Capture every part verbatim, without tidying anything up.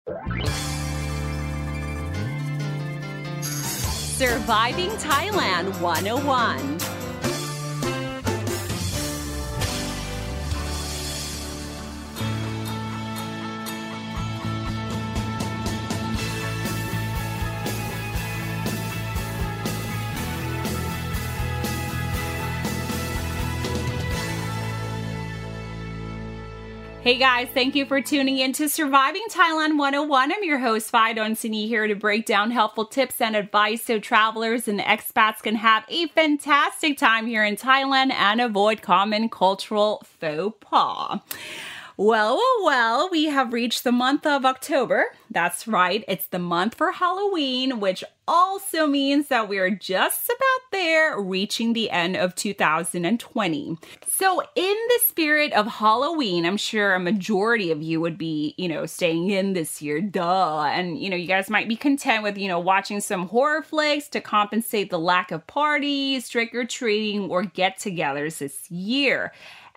Surviving Thailand one oh one. Hey guys, thank you for tuning in to Surviving Thailand one oh one. I'm your host, Fidon here to break down helpful tips and advice so travelers and expats can have a fantastic time here in Thailand and avoid common cultural faux pas. Well, well, well, we have reached the month of October. That's right, it's the month for Halloween, which also means that we are just about there, reaching the end of two thousand twenty. So in the spirit of Halloween, I'm sure a majority of you would be, you know, staying in this year, duh. And, you know, you guys might be content with, you know, watching some horror flicks to compensate the lack of parties, trick-or-treating, or get-togethers this year.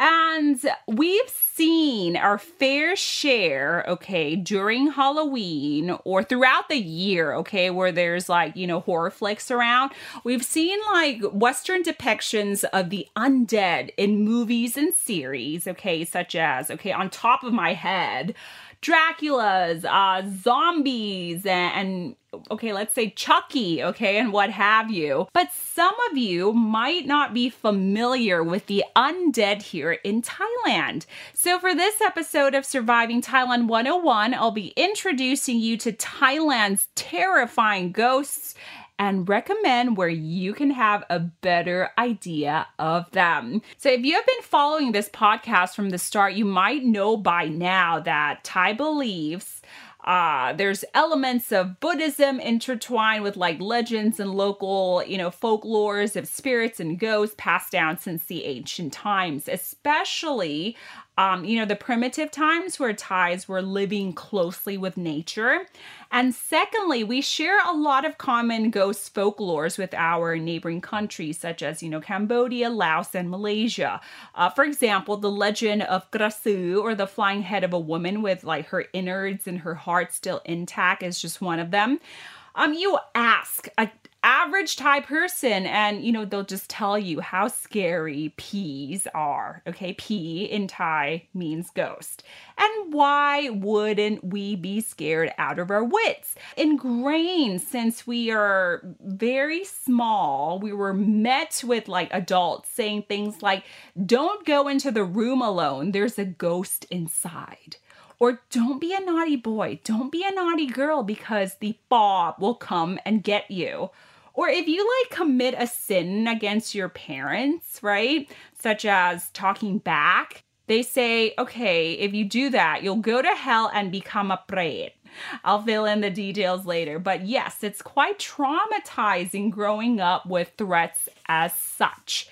And we've seen our fair share, okay, during Halloween or throughout the year, okay, where there's like, you know, horror flicks around. We've seen like Western depictions of the undead in movies and series, okay, such as, okay, on top of my head, Dracula's, uh, zombies, and, and okay, let's say Chucky, okay, and what have you. But some of you might not be familiar with the undead here in Thailand. So for this episode of Surviving Thailand one oh one, I'll be introducing you to Thailand's terrifying ghosts and recommend where you can have a better idea of them. So if you have been following this podcast from the start, you might know by now that Thai beliefs Uh, there's elements of Buddhism intertwined with like legends and local, you know, folklores of spirits and ghosts passed down since the ancient times, especially, um, you know, the primitive times where Thais were living closely with nature. And secondly, we share a lot of common ghost folklores with our neighboring countries, such as, you know, Cambodia, Laos, and Malaysia. Uh, for example, the legend of Krasu, or the flying head of a woman with like her innards and her heart still intact, is just one of them. Um, you ask a average Thai person and, you know, they'll just tell you how scary peas are. Okay, pea in Thai means ghost. And why wouldn't we be scared out of our wits? Ingrained since we are very small, we were met with like adults saying things like, don't go into the room alone, there's a ghost inside. Or don't be a naughty boy, don't be a naughty girl because the Bob will come and get you. Or if you like commit a sin against your parents, right? Such as talking back, they say, okay, if you do that, you'll go to hell and become a pret. I'll fill in the details later. But yes, it's quite traumatizing growing up with threats as such.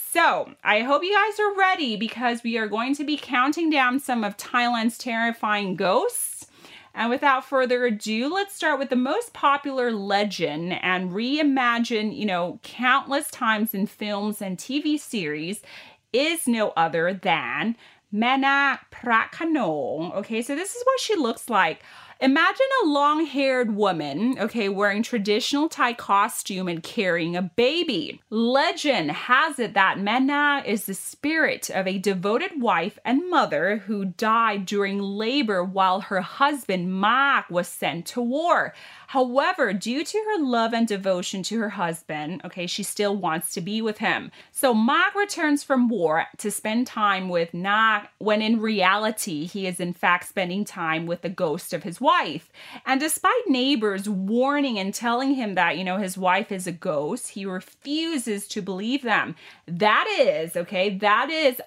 So I hope you guys are ready because we are going to be counting down some of Thailand's terrifying ghosts. And without further ado, let's start with the most popular legend and reimagine, you know, countless times in films and T V series is no other than Mana Prakanong. Okay, so this is what she looks like. Imagine a long-haired woman, okay, wearing traditional Thai costume and carrying a baby. Legend has it that Mana is the spirit of a devoted wife and mother who died during labor while her husband Mak was sent to war. However, due to her love and devotion to her husband, okay, she still wants to be with him. So Mak returns from war to spend time with Nak, when in reality, he is in fact spending time with the ghost of his wife. And despite neighbors warning and telling him that, you know, his wife is a ghost, he refuses to believe them. That is, okay, that is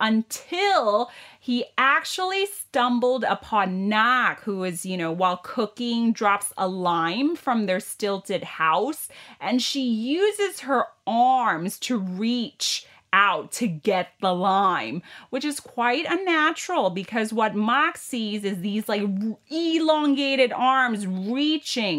until he actually stumbled upon Nak, who is, you know, while cooking, drops a lime from their stilted house, and she uses her arms to reach out to get the lime, which is quite unnatural because what Mak sees is these like elongated arms reaching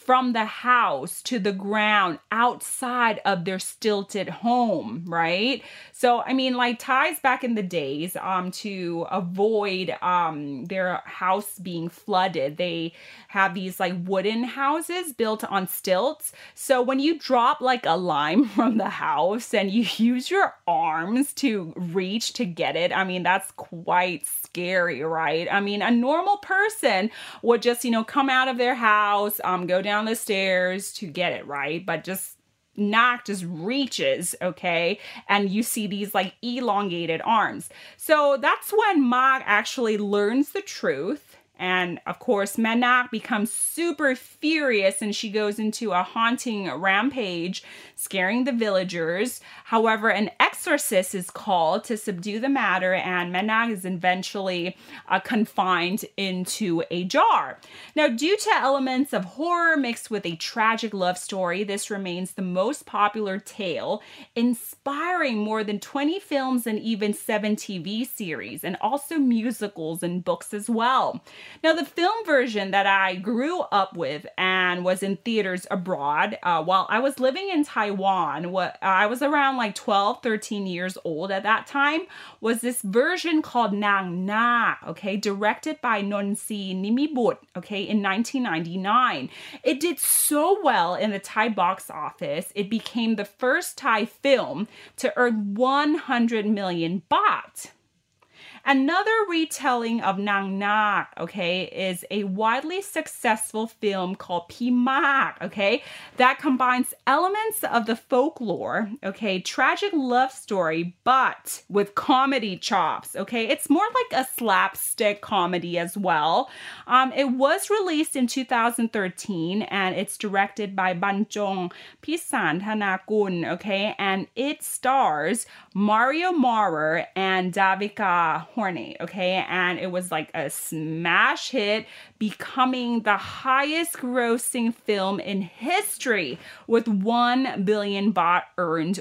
from the house to the ground outside of their stilted home, right? So, I mean, like Thais back in the days, um, to avoid um, their house being flooded, they have these like wooden houses built on stilts. So when you drop like a lime from the house and you use your arms to reach to get it, I mean, that's quite scary, right? I mean, a normal person would just, you know, come out of their house, um, go down the stairs to get it, right? But just Nak just reaches, okay? And you see these like elongated arms. So that's when Mag actually learns the truth. And of course, Manak becomes super furious and she goes into a haunting rampage, scaring the villagers. However, an exorcist is called to subdue the matter, and Manak is eventually uh, confined into a jar. Now, due to elements of horror mixed with a tragic love story, this remains the most popular tale, inspiring more than twenty films and even seven T V series, and also musicals and books as well. Now, the film version that I grew up with and was in theaters abroad uh, while I was living in Taiwan, what I was around like twelve, thirteen years old at that time, was this version called Nang Na, okay, directed by Nonsi Nimibut, okay, in nineteen ninety-nine. It did so well in the Thai box office, it became the first Thai film to earn one hundred million baht. Another retelling of Nang Nak, okay, is a widely successful film called Pi Mak, okay, that combines elements of the folklore, okay, tragic love story, but with comedy chops, okay. It's more like a slapstick comedy as well. Um, it was released in two thousand thirteen, and it's directed by Banjong Pisan Thanakul, okay, and it stars Mario Maurer and Davika Horny, okay, and it was like a smash hit, becoming the highest grossing film in history with one billion baht earned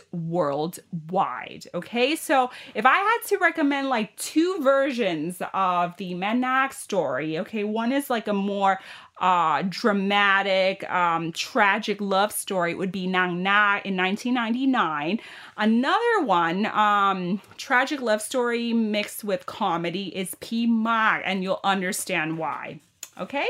worldwide, okay. So if I had to recommend like two versions of the Manak story, okay, one is like a more Uh, dramatic, um, tragic love story, it would be Nang Na in nineteen ninety-nine. Another one, um, tragic love story mixed with comedy, is Pi Mak, and you'll understand why. Okay?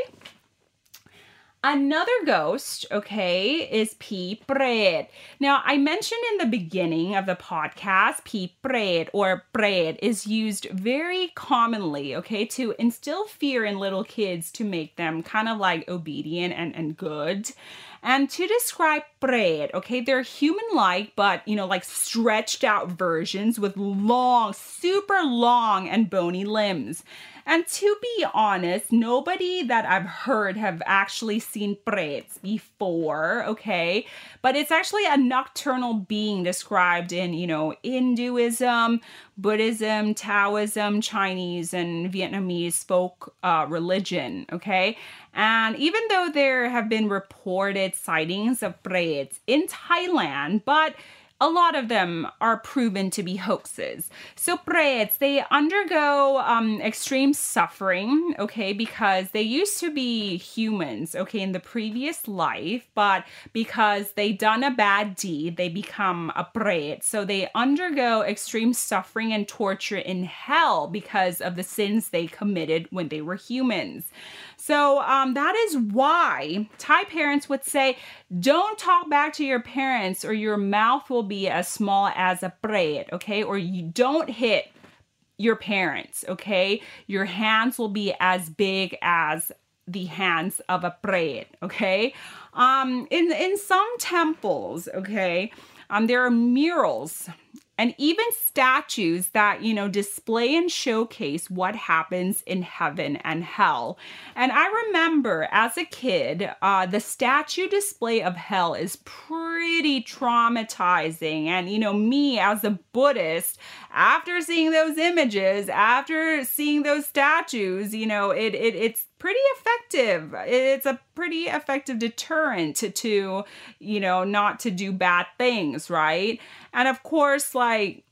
Another ghost, okay, is Pi Pret. Now, I mentioned in the beginning of the podcast, Pi Pret or Pret is used very commonly, okay, to instill fear in little kids to make them kind of like obedient and, and good. And to describe Pret, okay, they're human-like, but, you know, like stretched out versions with long, super long and bony limbs. And to be honest, nobody that I've heard have actually seen Prets before, okay? But it's actually a nocturnal being described in, you know, Hinduism, Buddhism, Taoism, Chinese, and Vietnamese folk uh, religion, okay? And even though there have been reported sightings of Prets in Thailand, but a lot of them are proven to be hoaxes. So Prets, they undergo um, extreme suffering, okay, because they used to be humans, okay, in the previous life, but because they done a bad deed, they become a Pret. So they undergo extreme suffering and torture in hell because of the sins they committed when they were humans. So um, that is why Thai parents would say, don't talk back to your parents or your mouth will be as small as a Pret, okay? Or you don't hit your parents, okay? Your hands will be as big as the hands of a Pret, okay? Um, in, in some temples, okay, um, there are murals and even statues that, you know, display and showcase what happens in heaven and hell. And I remember as a kid, uh, the statue display of hell is pretty traumatizing. And, you know, me as a Buddhist, after seeing those images, after seeing those statues, you know, it, it it's pretty effective. It's a pretty effective deterrent to, to, you know, not to do bad things, right? And of course, like,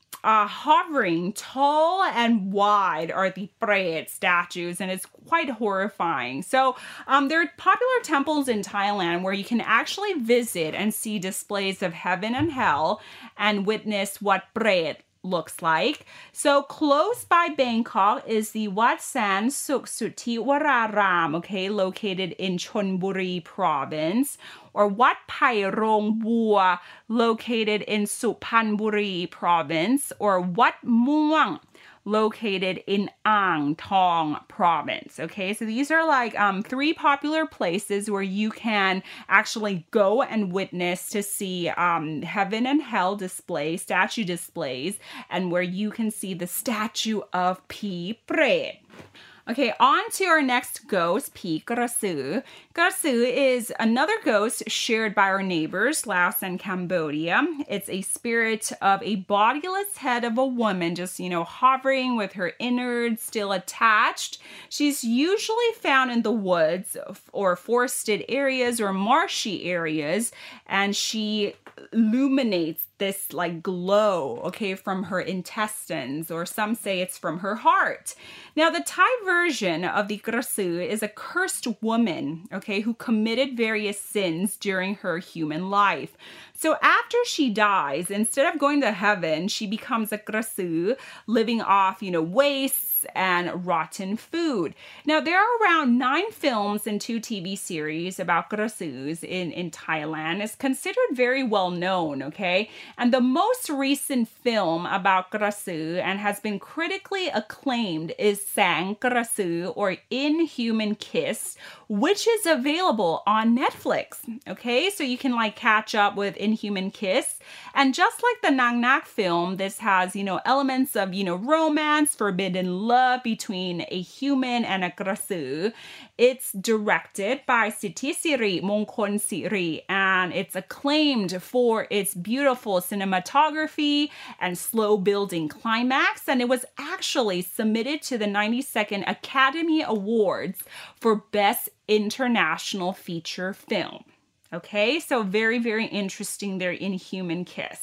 Uh, hovering tall and wide are the Prayat statues, and it's quite horrifying. So um, there are popular temples in Thailand where you can actually visit and see displays of heaven and hell and witness what Prayat looks like. So close by Bangkok is the Wat San Suk Suthi Wararam, okay, located in Chonburi province, or Wat Pai Rong Bua, located in Suphanburi province, or Wat Muang, located in Ang Thong province. Okay, so these are like um, three popular places where you can actually go and witness to see um, heaven and hell display, statue displays, and where you can see the statue of Pi Pret. Okay, on to our next ghost, Pi Krasu. Krasu is another ghost shared by our neighbors, Laos and Cambodia. It's a spirit of a bodiless head of a woman, just, you know, hovering with her innards still attached. She's usually found in the woods or forested areas or marshy areas, and she illuminates this like glow, okay, from her intestines, or some say it's from her heart. Now, the Thai version of the Krasu is a cursed woman, okay, who committed various sins during her human life. So after she dies, instead of going to heaven, she becomes a Krasu, living off, you know, wastes and rotten food. Now, there are around nine films and two T V series about Krasus in, in Thailand. It's considered very well known, okay? And the most recent film about Krasu and has been critically acclaimed is Sang Krasu, or Inhuman Kiss, which is available on Netflix, okay? So you can like catch up with Inhuman Kiss. And just like the Nang Nak film, this has, you know, elements of, you know, romance, forbidden love between a human and a Krasu. It's directed by Sithisiri Mongkol Siri, and it's acclaimed for its beautiful cinematography and slow building climax. And it was actually submitted to the ninety-second Academy Awards for Best International Feature Film. Okay, so very, very interesting there, Inhuman Kiss.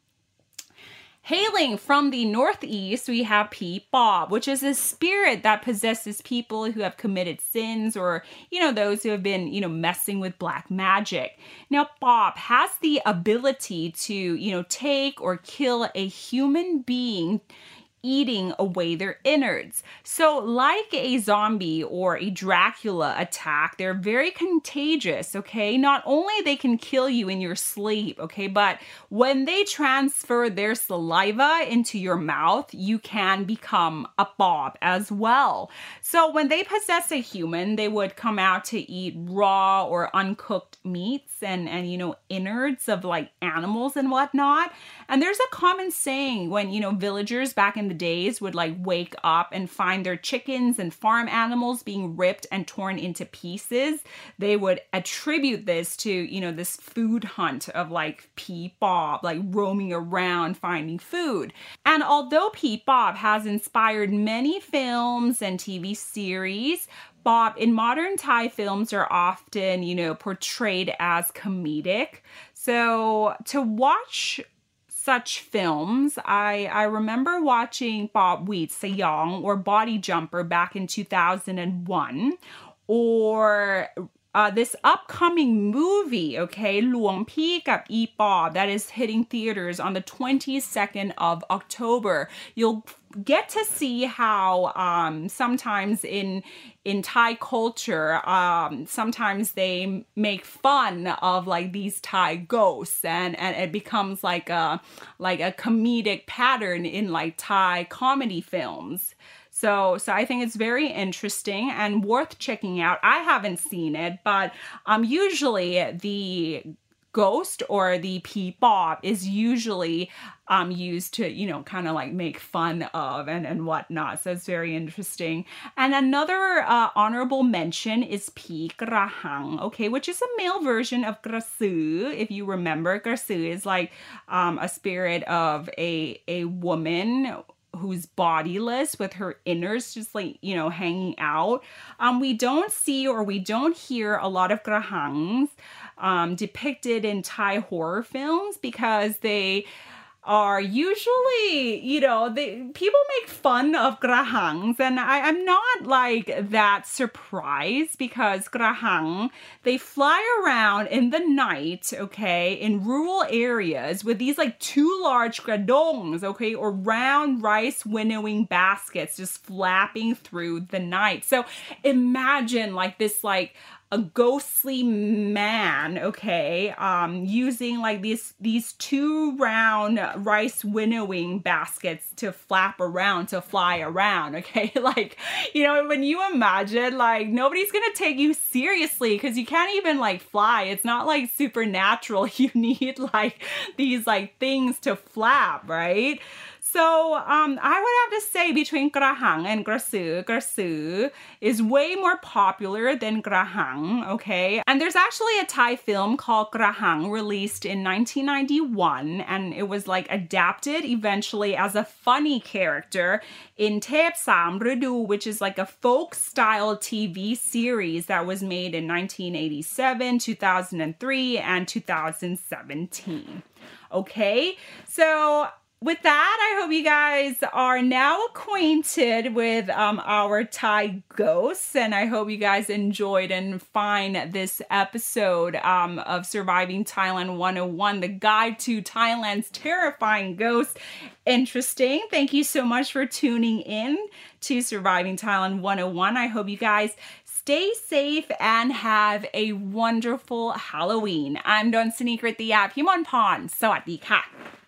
Hailing from the northeast, we have Pi Bob, which is a spirit that possesses people who have committed sins, or, you know, those who have been, you know, messing with black magic. Now, Bob has the ability to, you know, take or kill a human being, eating away their innards. So like a zombie or a Dracula attack, they're very contagious, okay? Not only they can kill you in your sleep, okay, but when they transfer their saliva into your mouth, you can become a Bob as well. So when they possess a human, they would come out to eat raw or uncooked meats and, and you know, innards of like animals and whatnot. And there's a common saying when, you know, villagers back in the days would like wake up and find their chickens and farm animals being ripped and torn into pieces, they would attribute this to, you know, this food hunt of like Pi Bob, like roaming around finding food. And although Pi Bob has inspired many films and T V series, Bob in modern Thai films are often, you know, portrayed as comedic. So to watch such films, I, I remember watching Bob Wheat Sayong or Body Jumper back in two thousand one, or uh, this upcoming movie, okay, Luang Pi Kap E Bob, that is hitting theaters on the twenty-second of October. You'll get to see how um, sometimes in in Thai culture, um, sometimes they make fun of like these Thai ghosts, and, and it becomes like a like a comedic pattern in like Thai comedy films. So, so I think it's very interesting and worth checking out. I haven't seen it, but um, usually the ghost or the Pi Bob is usually um, used to, you know, kind of like make fun of and, and whatnot. So it's very interesting. And another uh, honorable mention is Pi Krahang, okay, which is a male version of Krasu. If you remember, Krasu is like um, a spirit of a, a woman who's bodiless with her innards just like, you know, hanging out. Um, we don't see or we don't hear a lot of Krahangs um, depicted in Thai horror films because they are usually, you know, they, people make fun of grahangs, and I, I'm not like that surprised because grahang, they fly around in the night, okay, in rural areas with these like two large gradongs, okay, or round rice winnowing baskets just flapping through the night. So imagine like this like a ghostly man, okay, um, using like these these two round rice winnowing baskets to flap around, to fly around, okay? Like, you know, when you imagine, like, nobody's gonna take you seriously because you can't even like fly. It's not like supernatural. You need like these like things to flap, right? So um, I would have to say between grahang and grasu, grasu is way more popular than grahang, okay? And there's actually a Thai film called Grahang released in nineteen ninety-one, and it was like adapted eventually as a funny character in Thep Sam Rudu, which is like a folk style T V series that was made in nineteen eighty-seven, two thousand three, and two thousand seventeen. Okay, so with that, I hope you guys are now acquainted with um, our Thai ghosts, and I hope you guys enjoyed and find this episode um, of Surviving Thailand one oh one, the guide to Thailand's terrifying ghosts, interesting. Thank you so much for tuning in to Surviving Thailand one oh one. I hope you guys stay safe and have a wonderful Halloween. I'm Don Sunikritia Pimonpon. สวัสดีค่ะ